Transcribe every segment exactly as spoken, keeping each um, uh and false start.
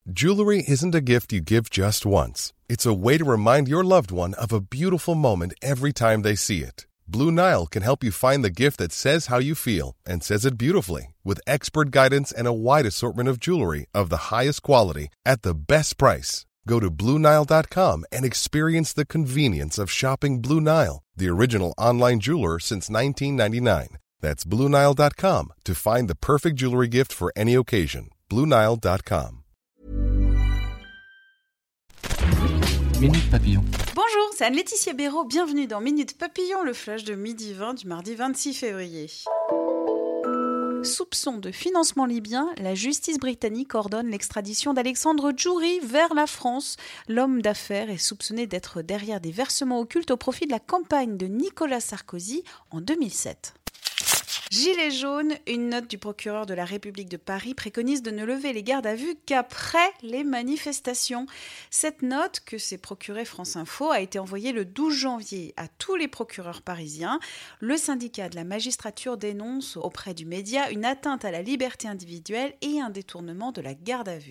Jewelry isn't a gift you give just once. It's a way to remind your loved one of a beautiful moment every time they see it. Blue Nile can help you find the gift that says how you feel and says it beautifully, with expert guidance and a wide assortment of jewelry of the highest quality at the best price. Go to Blue Nile dot com and experience the convenience of shopping Blue Nile, the original online jeweler since nineteen ninety-nine. That's Blue Nile dot com to find the perfect jewelry gift for any occasion. Blue Nile dot com. Minute Papillon. Bonjour, c'est Anne-Laetitia Béraud. Bienvenue dans Minute Papillon, le flash de midi vingt du mardi vingt-six février. Soupçon de financement libyen, la justice britannique ordonne l'extradition d'Alexandre Djouri vers la France. L'homme d'affaires est soupçonné d'être derrière des versements occultes au profit de la campagne de Nicolas Sarkozy en deux mille sept. Gilets jaunes, une note du procureur de la République de Paris préconise de ne lever les gardes à vue qu'après les manifestations. Cette note, que s'est procurée France Info, a été envoyée le douze janvier à tous les procureurs parisiens. Le syndicat de la magistrature dénonce auprès du média une atteinte à la liberté individuelle et un détournement de la garde à vue.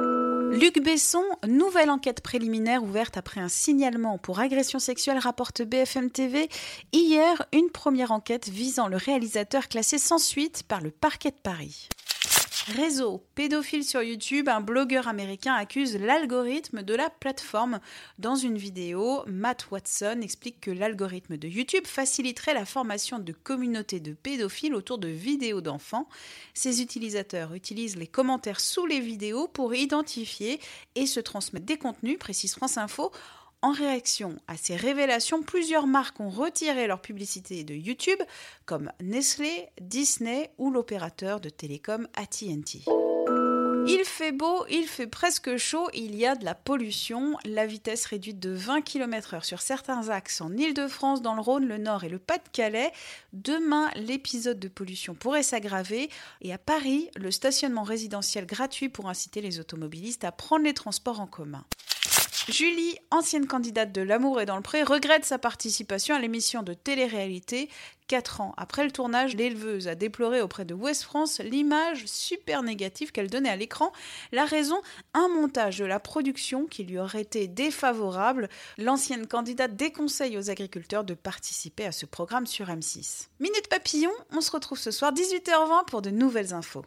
Luc Besson, nouvelle enquête préliminaire ouverte après un signalement pour agression sexuelle, rapporte B F M T V. Hier, une première enquête visant le réalisateur classé sans suite par le parquet de Paris. Réseau pédophile sur YouTube, un blogueur américain accuse l'algorithme de la plateforme. Dans une vidéo, Matt Watson explique que l'algorithme de YouTube faciliterait la formation de communautés de pédophiles autour de vidéos d'enfants. Ces utilisateurs utilisent les commentaires sous les vidéos pour identifier et se transmettre des contenus, précise France Info. En réaction à ces révélations, plusieurs marques ont retiré leur publicité de YouTube, comme Nestlé, Disney ou l'opérateur de télécom A T and T. Il fait beau, il fait presque chaud, il y a de la pollution. La vitesse réduite de vingt kilomètres heure sur certains axes en Île-de-France, dans le Rhône, le Nord et le Pas-de-Calais. Demain, l'épisode de pollution pourrait s'aggraver. Et à Paris, le stationnement résidentiel gratuit pour inciter les automobilistes à prendre les transports en commun. Julie, ancienne candidate de L'amour est dans le pré, regrette sa participation à l'émission de télé-réalité. Quatre ans après le tournage, l'éleveuse a déploré auprès de Ouest France l'image super négative qu'elle donnait à l'écran. La raison, un montage de la production qui lui aurait été défavorable. L'ancienne candidate déconseille aux agriculteurs de participer à ce programme sur M six. Minute Papillon, on se retrouve ce soir dix-huit heures vingt pour de nouvelles infos.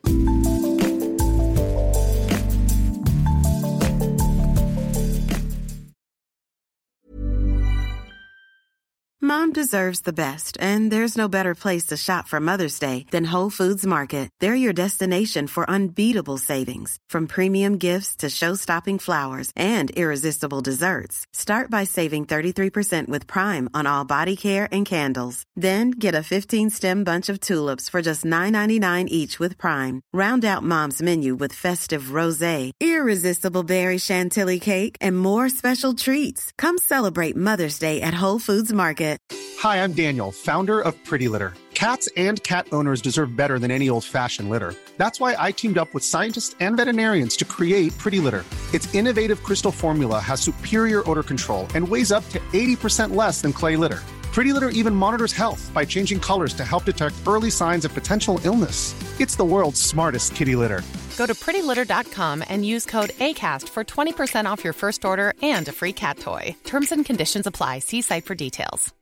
Mom deserves the best, and there's no better place to shop for Mother's Day than Whole Foods Market. They're your destination for unbeatable savings, from premium gifts to show-stopping flowers and irresistible desserts. Start by saving thirty-three percent with Prime on all body care and candles. Then get a fifteen-stem bunch of tulips for just nine ninety-nine each with Prime. Round out Mom's menu with festive rosé, irresistible berry chantilly cake, and more special treats. Come celebrate Mother's Day at Whole Foods Market. Hi, I'm Daniel, founder of Pretty Litter. Cats and cat owners deserve better than any old-fashioned litter. That's why I teamed up with scientists and veterinarians to create Pretty Litter. Its innovative crystal formula has superior odor control and weighs up to eighty percent less than clay litter. Pretty Litter even monitors health by changing colors to help detect early signs of potential illness. It's the world's smartest kitty litter. Go to pretty litter dot com and use code ACAST for twenty percent off your first order and a free cat toy. Terms and conditions apply. See site for details.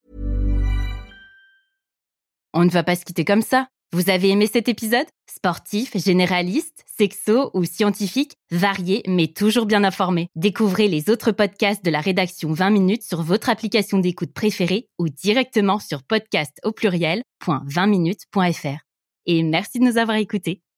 On ne va pas se quitter comme ça. Vous avez aimé cet épisode ? Sportif, généraliste, sexo ou scientifique, varié mais toujours bien informé. Découvrez les autres podcasts de la rédaction vingt minutes sur votre application d'écoute préférée ou directement sur podcast au pluriel point vingt minutes point f r. Et merci de nous avoir écoutés.